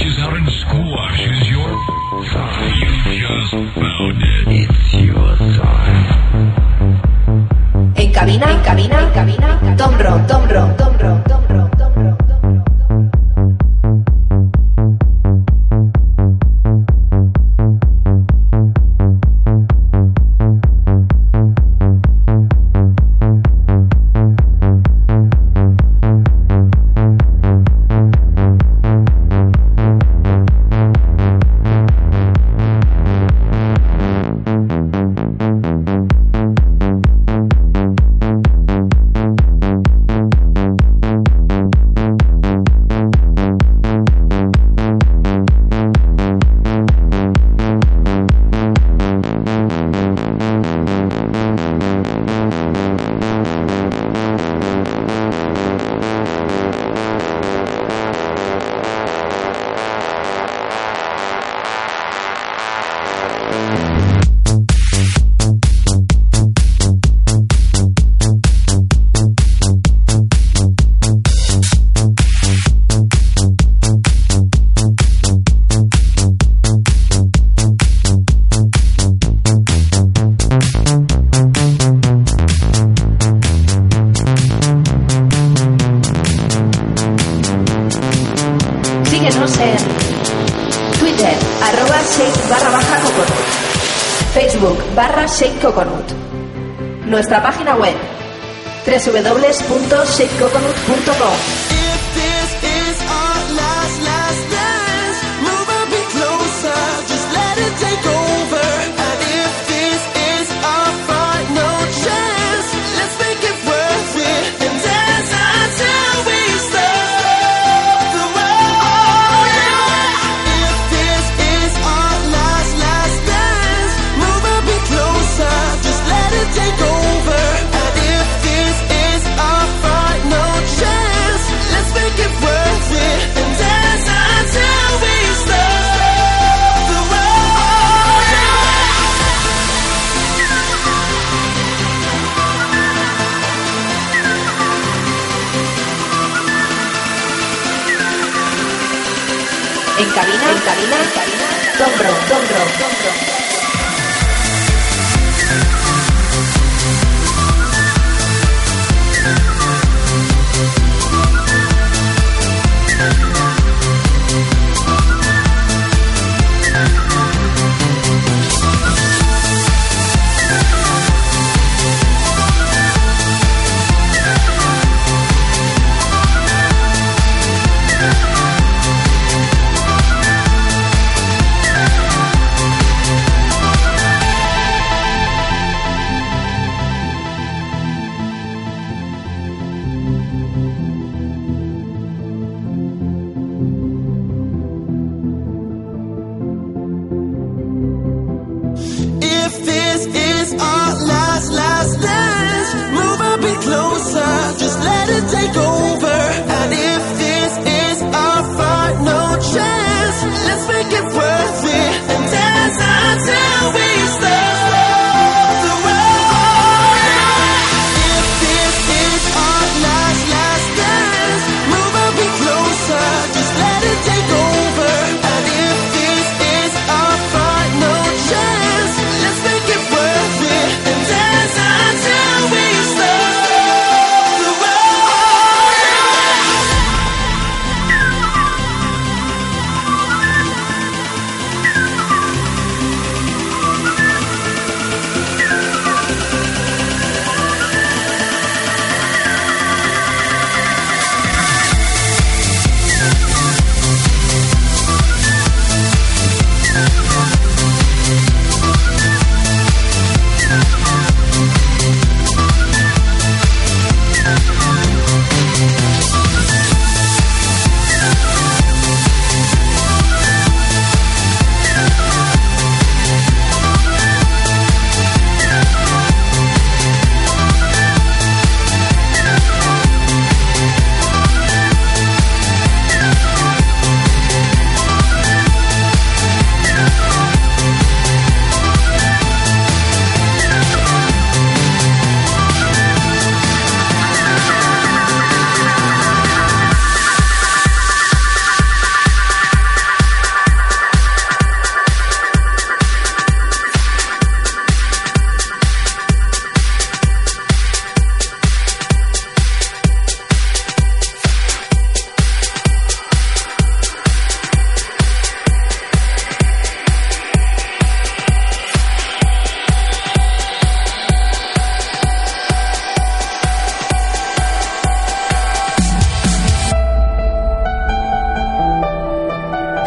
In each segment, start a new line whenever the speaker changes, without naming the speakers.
reaches out and squashes your... You just found it. It's your time.
En cabina, Tom Ron. Síguenos en Twitter, @shake_coconut, Facebook /shakecoconut, nuestra página web www.shakecoconut.com. En cabina, Tom Ron.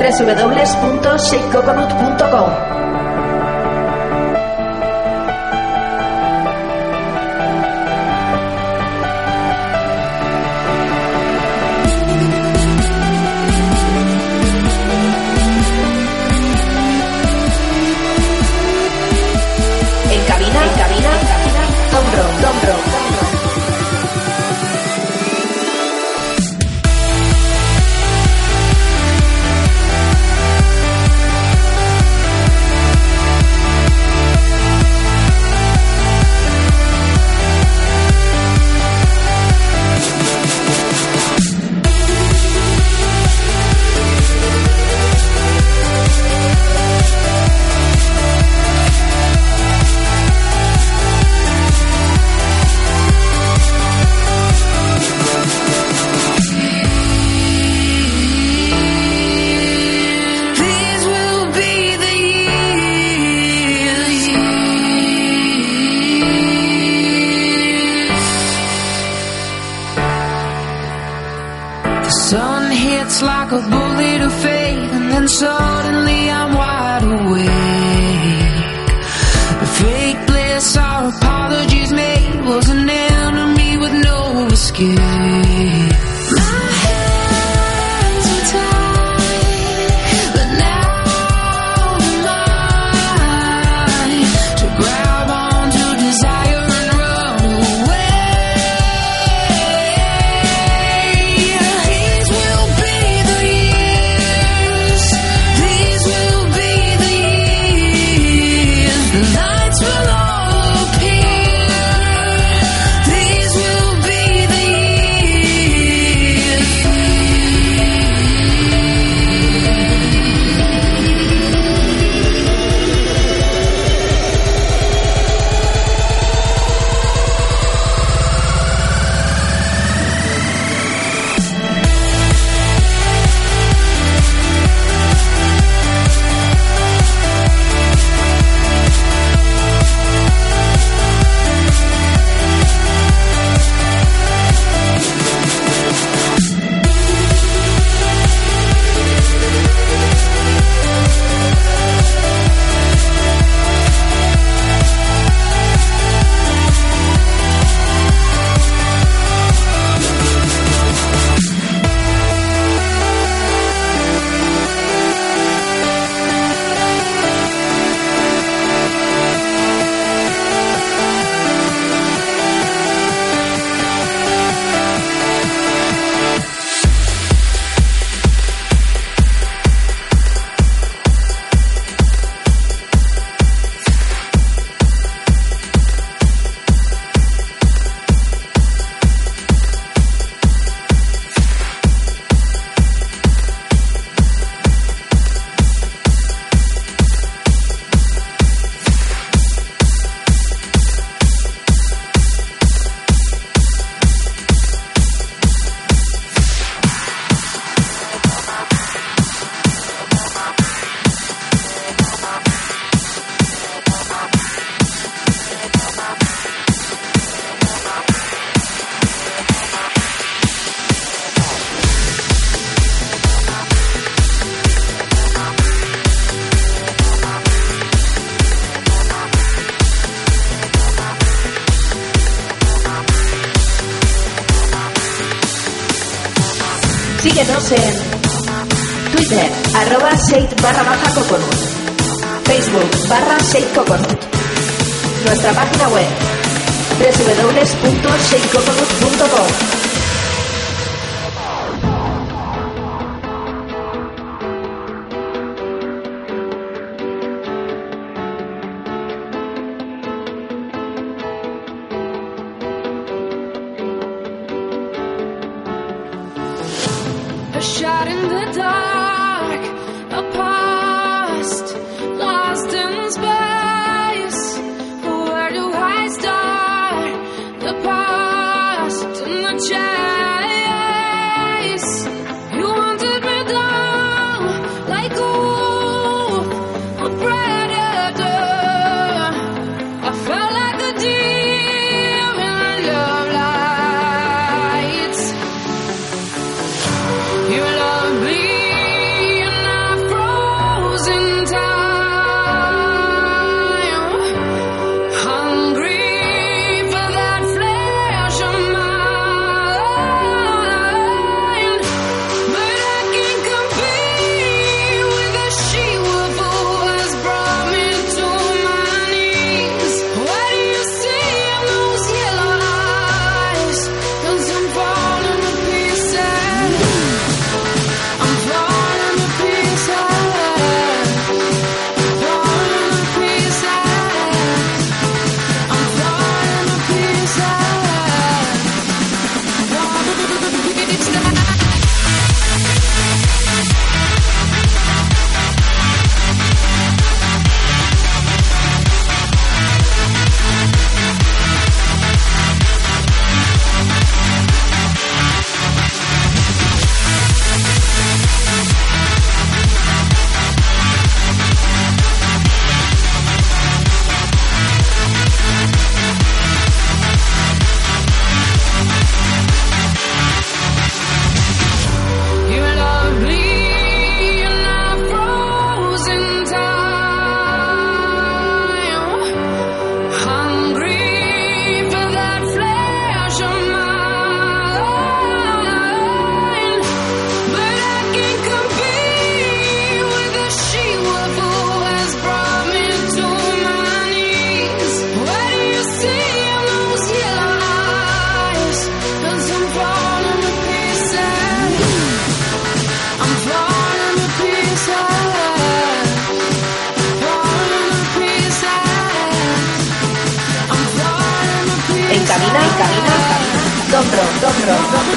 www.shakecoconut.com. En cabina, Tombro.
Like a bullet of faith, and then suddenly I'm wide awake. The fake bliss our apologies made was an enemy with no escape. My hands were tied, but now I'm mine to grab onto desire and run away. These will be the years. These will be the years. The lights will all appear. These will be the years.
Síguenos en Twitter, @shade_coconut, Facebook /shadecoconut, nuestra página web www.shadecoconut.com.
A shot in the dark, a past lost in space. Where do I start? The past and the chase. You wanted me down like a wolf, a predator. I felt like a deer in love lights. You love me.
cabina, Dombro.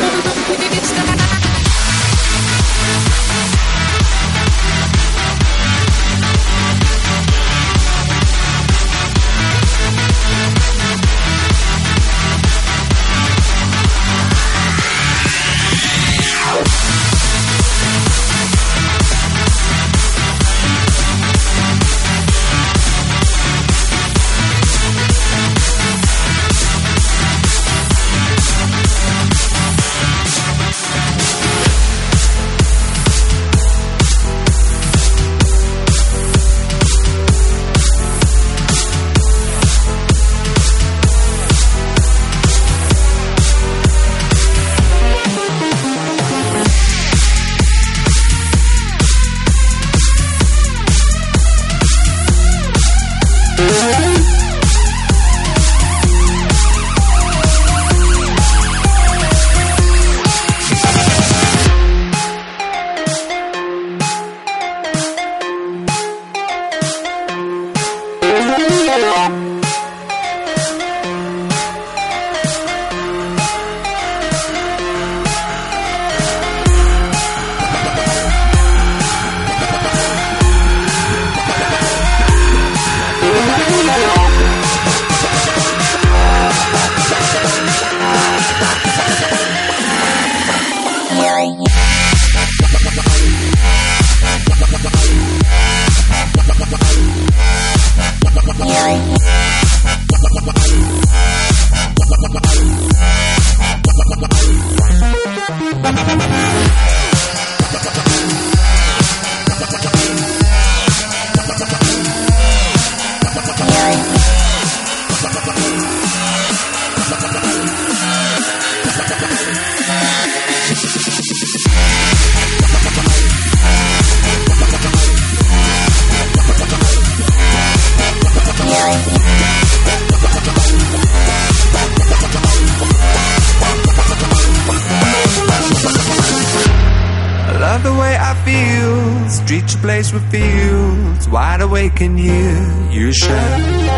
Streets a place with fields, wide awake and hear you shout.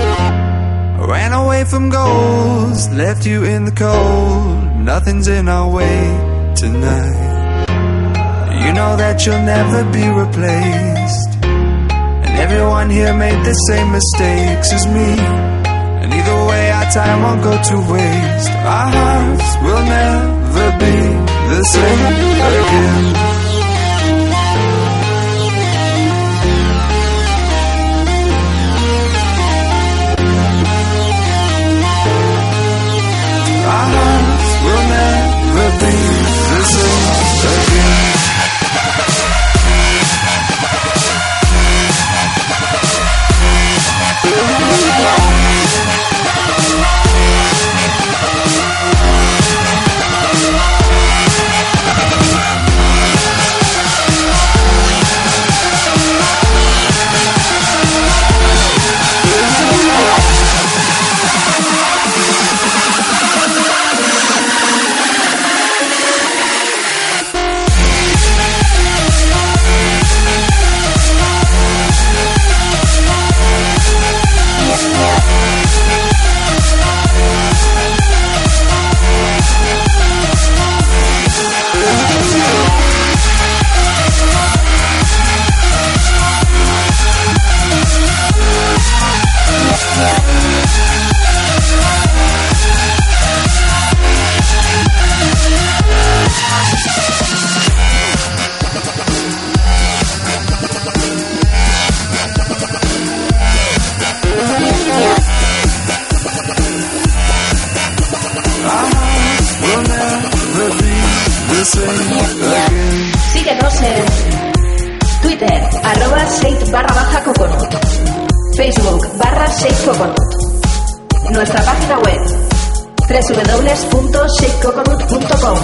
Ran away from goals, left you in the cold. Nothing's in our way tonight. You know that you'll never be replaced, and everyone here made the same mistakes as me. And either way our time won't go to waste. Our hearts will never be the same again. Our hearts will never be the same again.
Síguenos en Twitter, @Shade_Coconut, Facebook /ShadeCoconut, nuestra página web www.shadecoconut.com.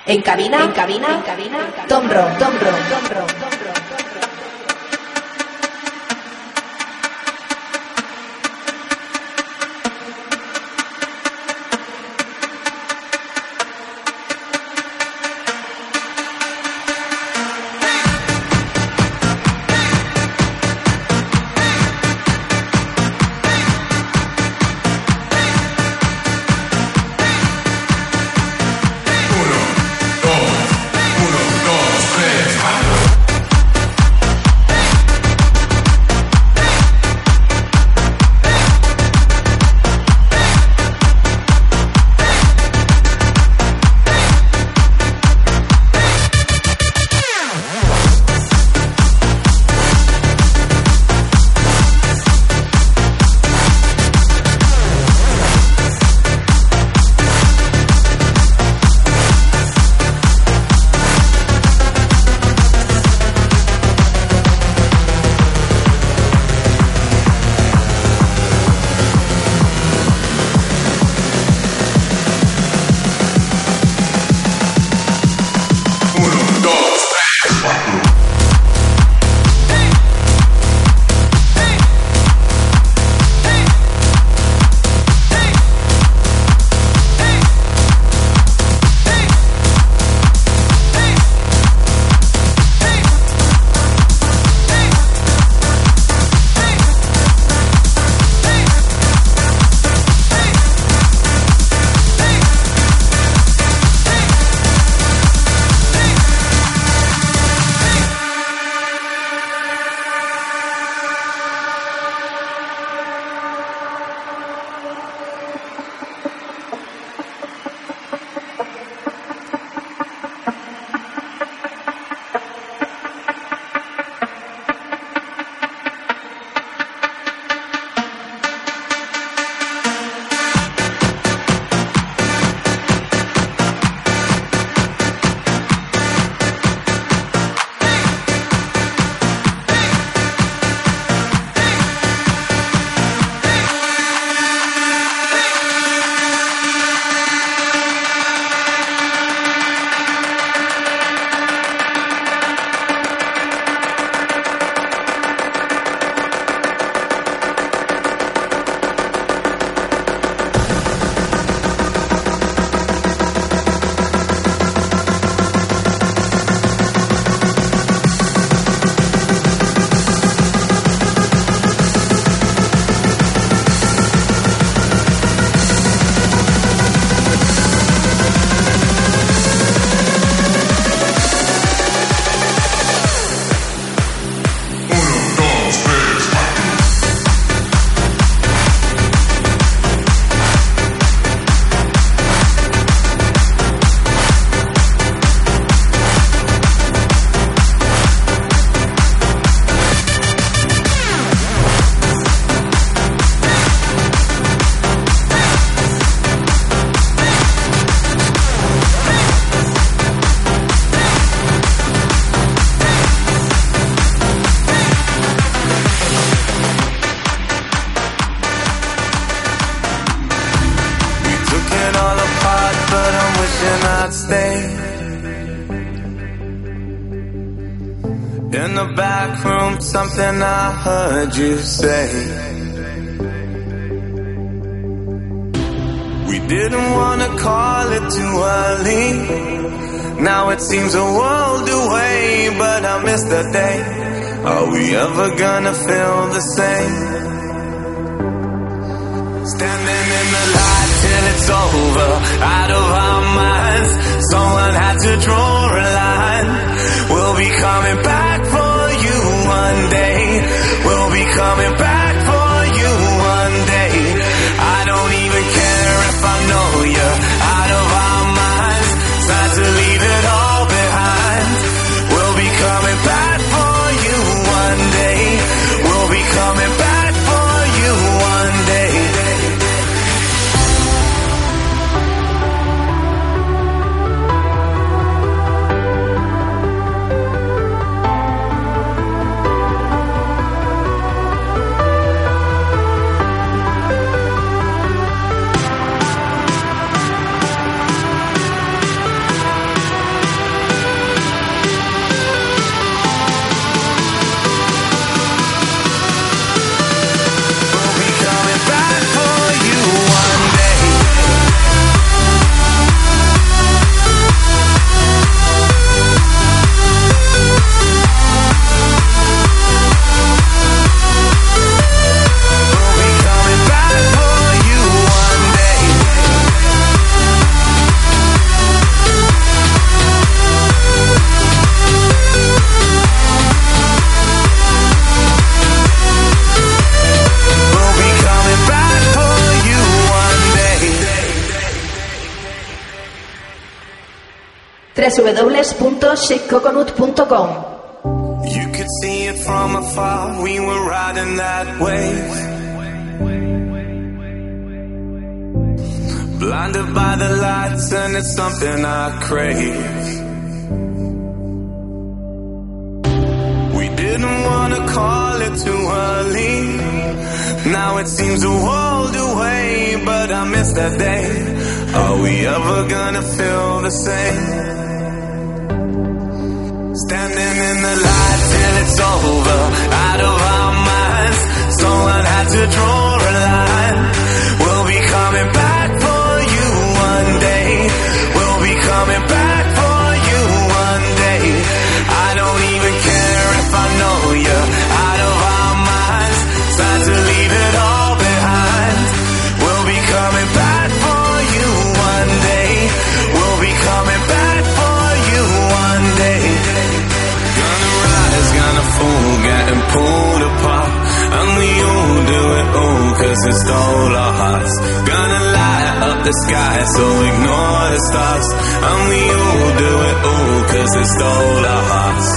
En cabina, Tombro.
In the back room, something I heard you say. We didn't want to call it too early. Now it seems a world away, but I miss that day. Are we ever gonna feel the same? Standing in the light till it's over, out of our minds. Someone had to draw a line. We'll be coming back for you one day. We'll be coming back for you one day. I don't even care if I know you're out of our minds. Time to leave it all behind. We'll be coming back for you one day. We'll be coming back for you one day.
www.shakecoconut.com.
You could see it from afar, we were riding that wave. Blinded by the lights and it's something I crave. We didn't wanna call it too early. Now it seems a world away, but I miss that day. Are we ever gonna feel the same? Standing in the light till it's over, out of our minds. Someone had to draw a line. We'll be coming back for you one day. We'll be coming back for you one day. I don't even care if I know you, out of our minds. Time to leave it all behind. We'll be coming back for you one day. We'll be coming back for you one day. Gonna rise, gonna fall, getting pulled apart. And we all do it all, cause it stole our hearts. Gonna light up the sky, so ignore the stars. And we all do it all, cause it stole our hearts.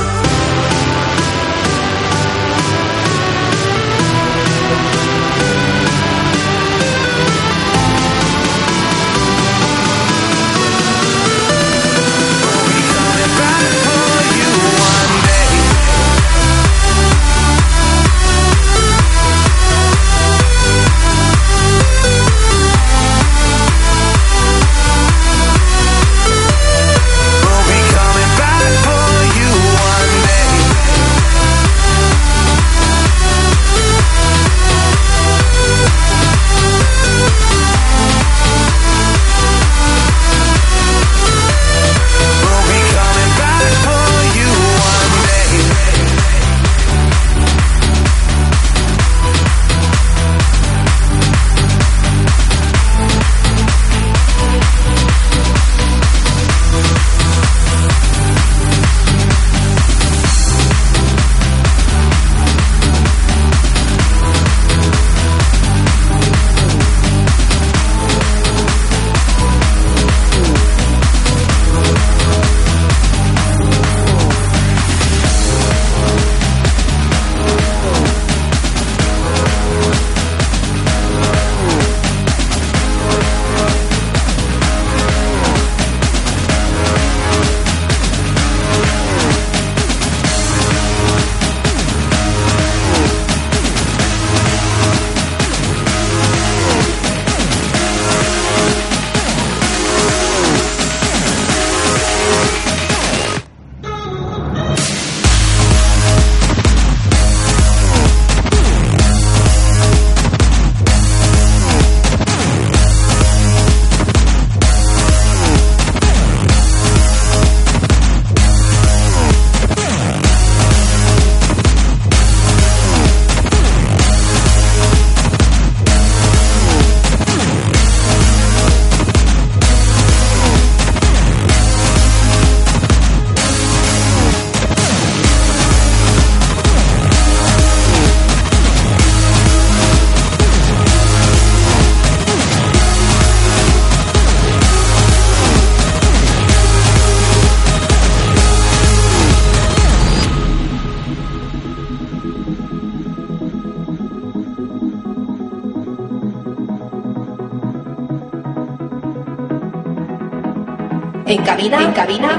En cabina,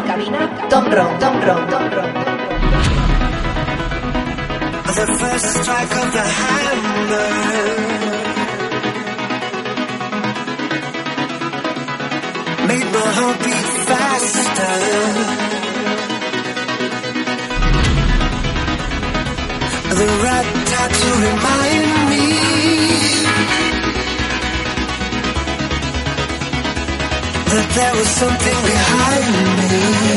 Tomro.
The first strike of the hammer made my heart beat faster. The rat to remind me that there was something behind me.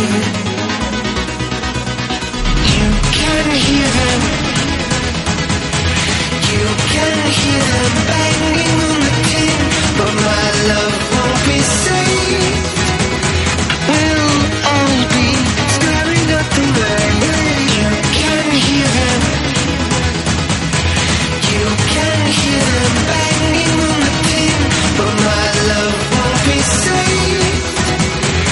You can hear them. You can hear them banging on the tin, but my love won't be safe. We'll all be staring at the rain. You can hear them. You can hear them banging on the tin, but my love won't be safe.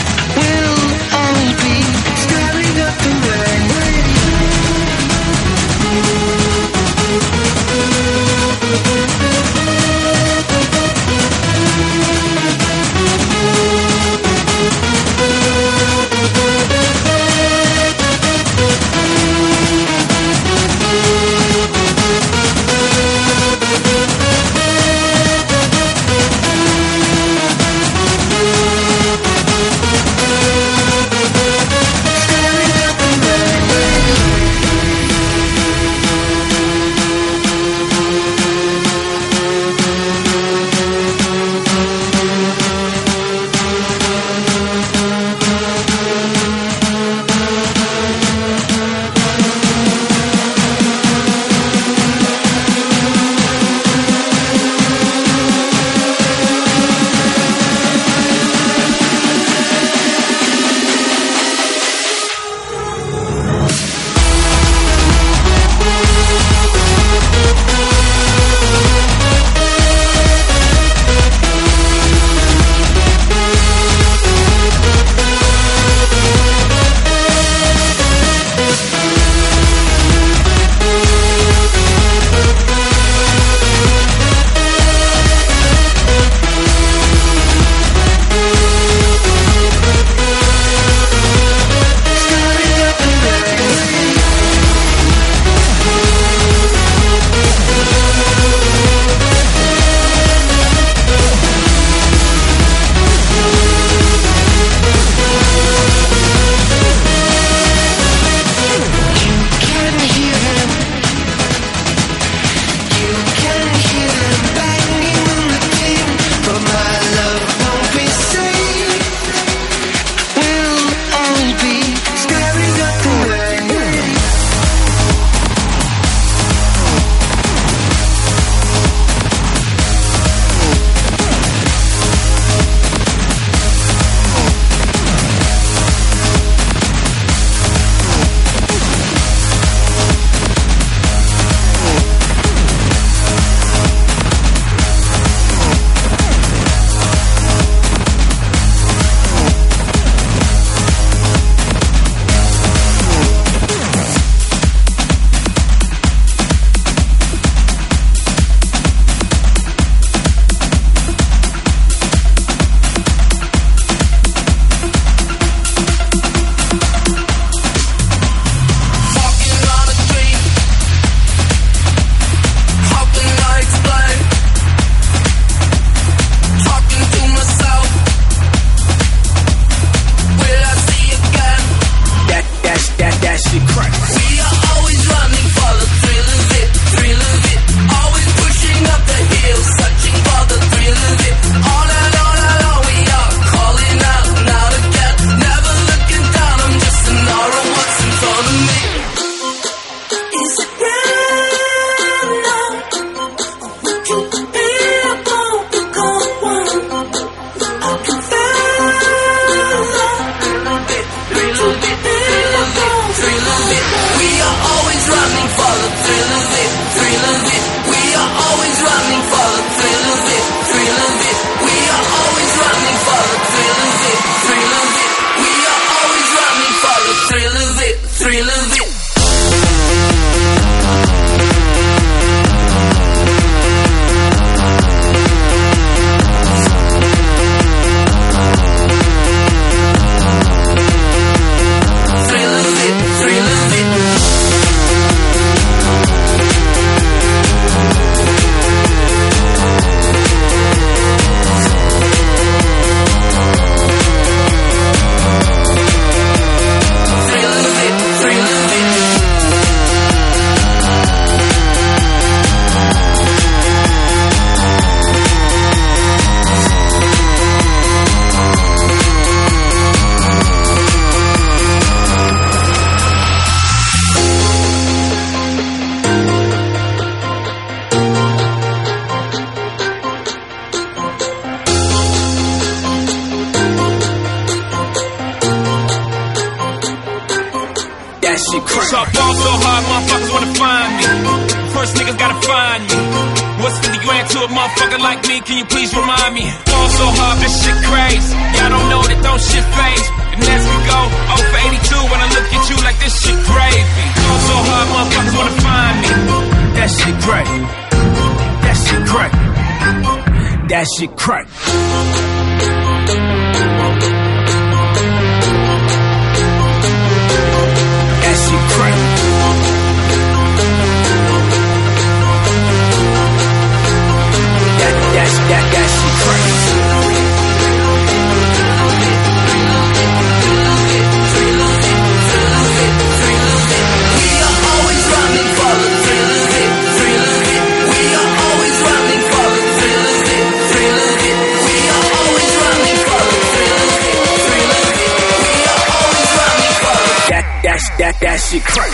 crack. So I ball so hard, motherfuckers wanna find me. First niggas gotta find me. What's 50 grand to a motherfucker like me? Can you please remind me? Ball so hard, this shit crazy. Y'all don't know that don't shit phase. And as we go, 0 for 82 when I look at you like this shit gravy. Ball so hard, motherfuckers wanna find me. That shit crack. That shit crack. That shit crack. That shit crack. That shit crack. We are always running for the thrill of it, thrill of it. We are always running for the thrill of it, thrill of it. We are always running for the thrill of it, thrill of it. We are always running for the that shit crack.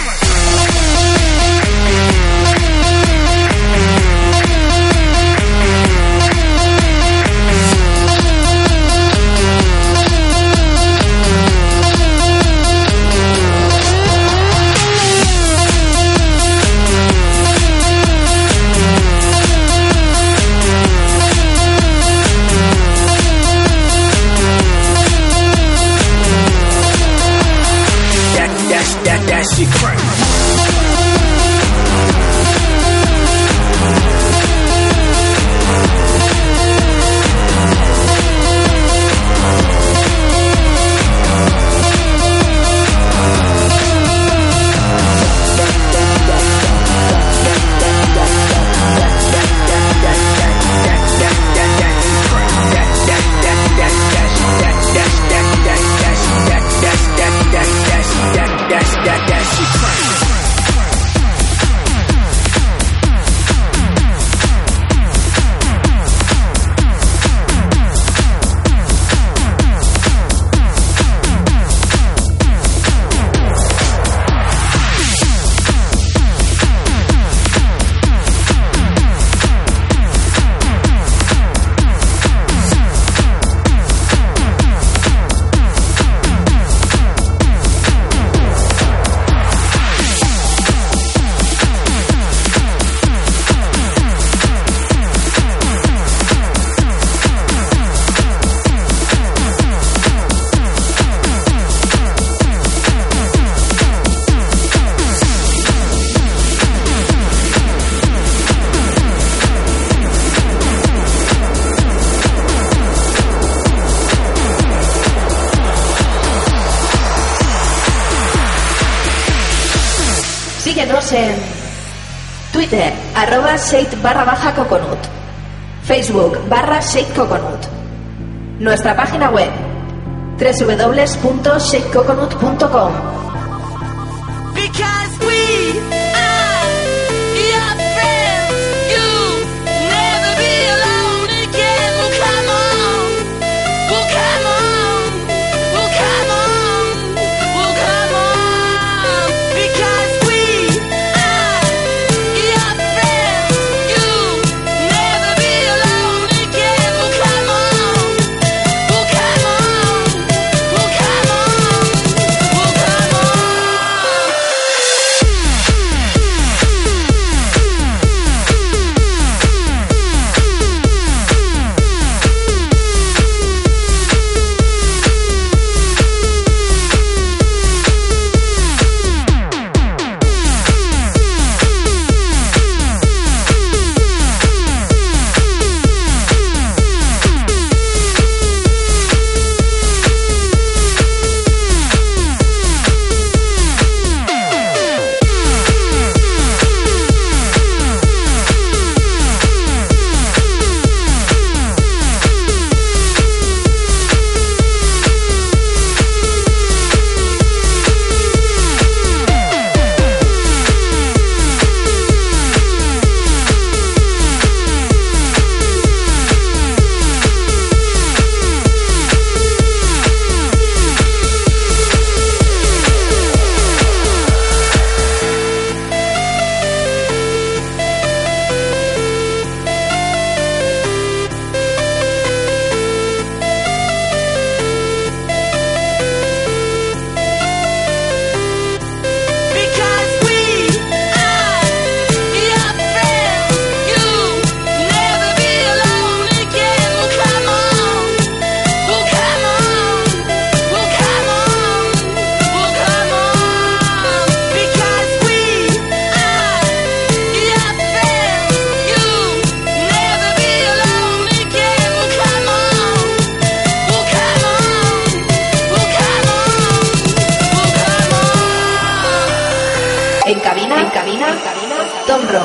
That shit crack.
Síguenos en Twitter, @shade_coconut, Facebook /shadecoconut, nuestra página web www.shadecoconut.com.
Because we are your friends, you'll never be alone again. Well, come on, well, come on, well, come on, well, come on. Because we are your friends, you'll never be alone again. Well, come on, well, come on, well, come on, well, come on.
Tombro.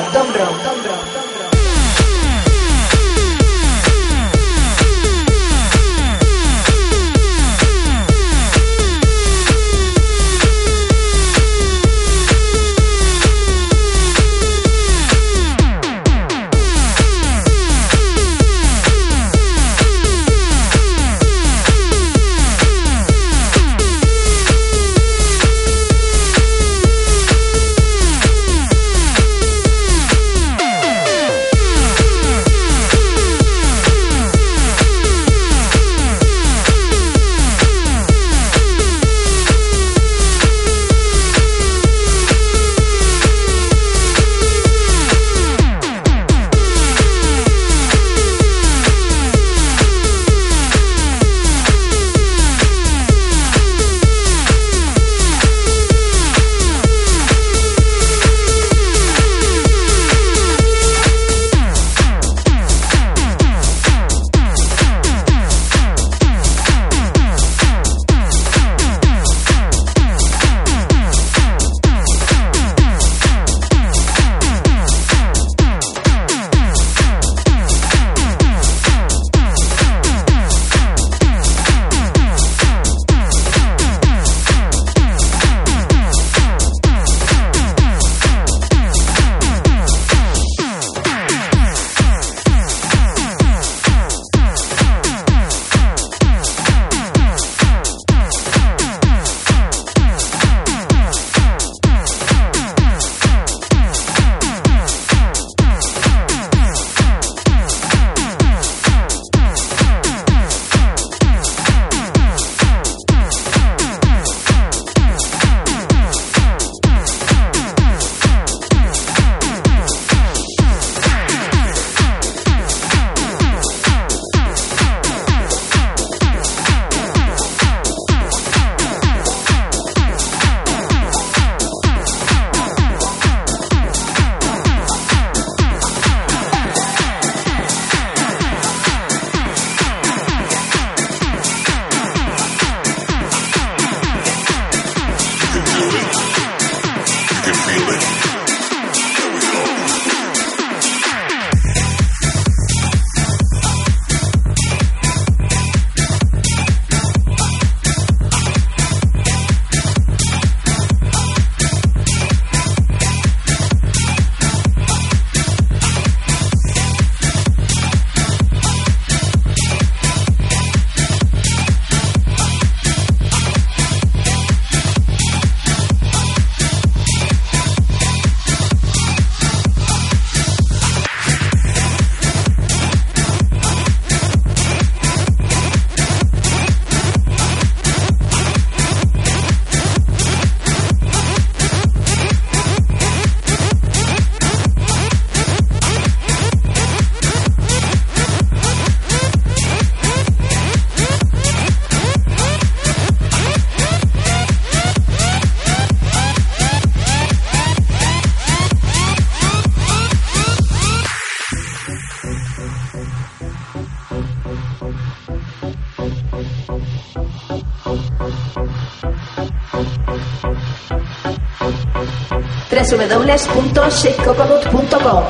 www.shakecoconut.com.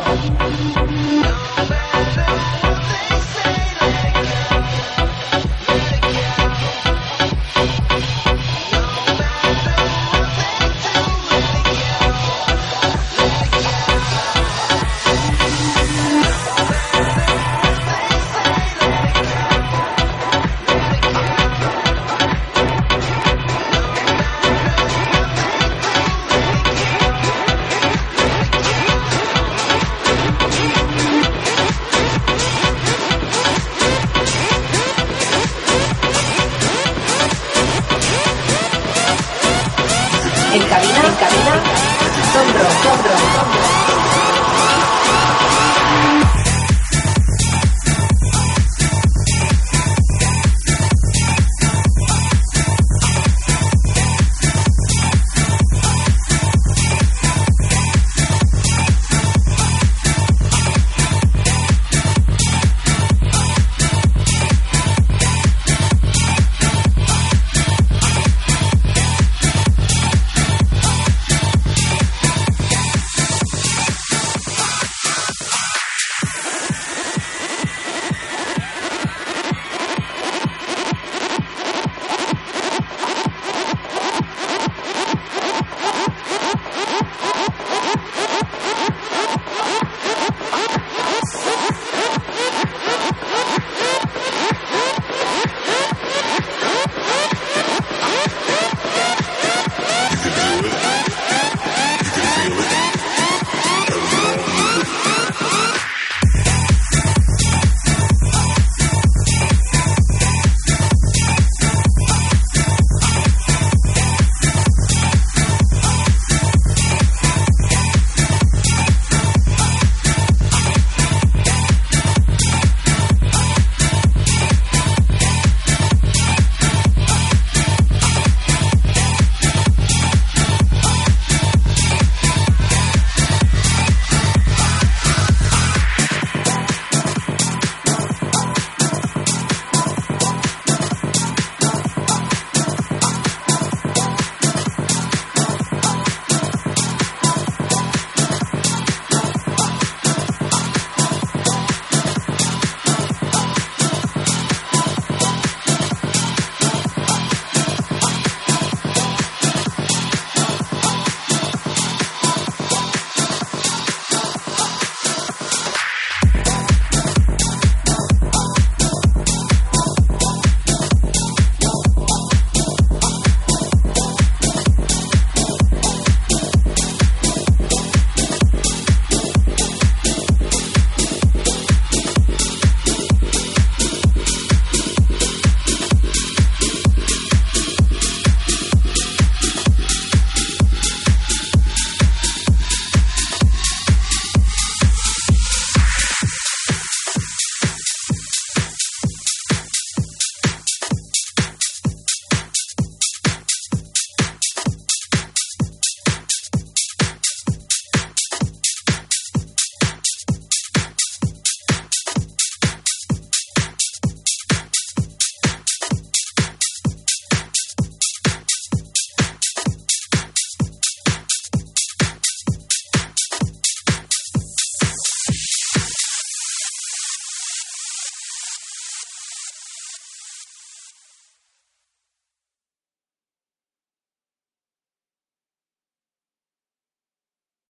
En cabina, Tombro.